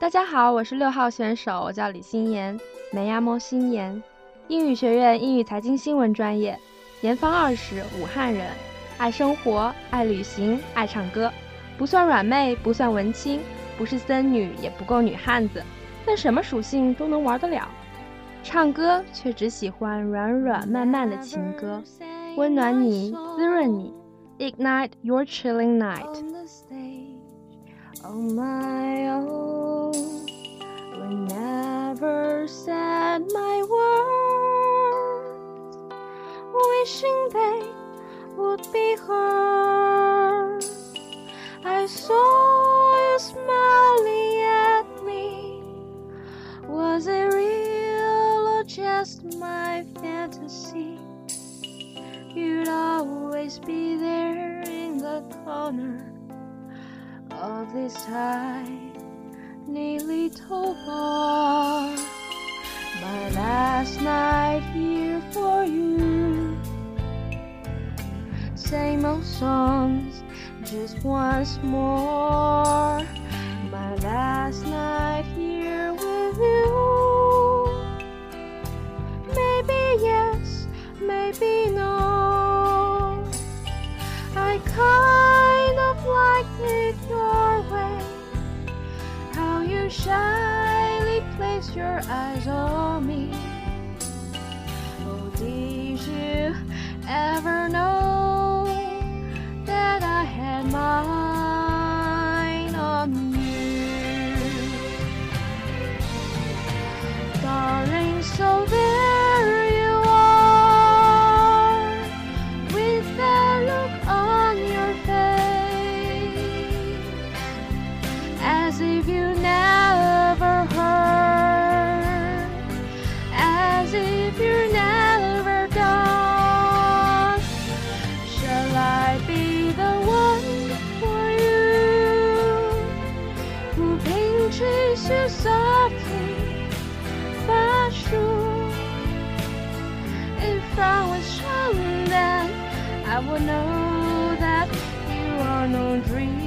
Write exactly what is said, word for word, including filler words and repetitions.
大家好，我是六号选手，我叫李心妍，美亚莫心妍，英语学院英语财经新闻专业，年方二十，武汉人，爱生活，爱旅行，爱唱歌，不算软妹，不算文青，不是森女，也不够女汉子，但什么属性都能玩得了。唱歌却只喜欢软软慢慢的情歌，温暖你，滋润你 ，Ignite your chilling night。On my own, we never said my words, wishing they would be heard. I saw you smiling at me. Was it real or just my fantasy? You'd always be there in the corner.Of this tiny little bar, my last night here for you. Same old songs, just once more. My last night here with you. Maybe yes, maybe no. I kind of liked it.Your way, how you shyly place your eyes on me. Oh, did you ever know that I had mine on you? Darling, so there you are, with that look on your face.As if you never heard, as if you're never done. Shall I be the one for you, who pinches you softly but sure? If I was young then, I would know that you are no dream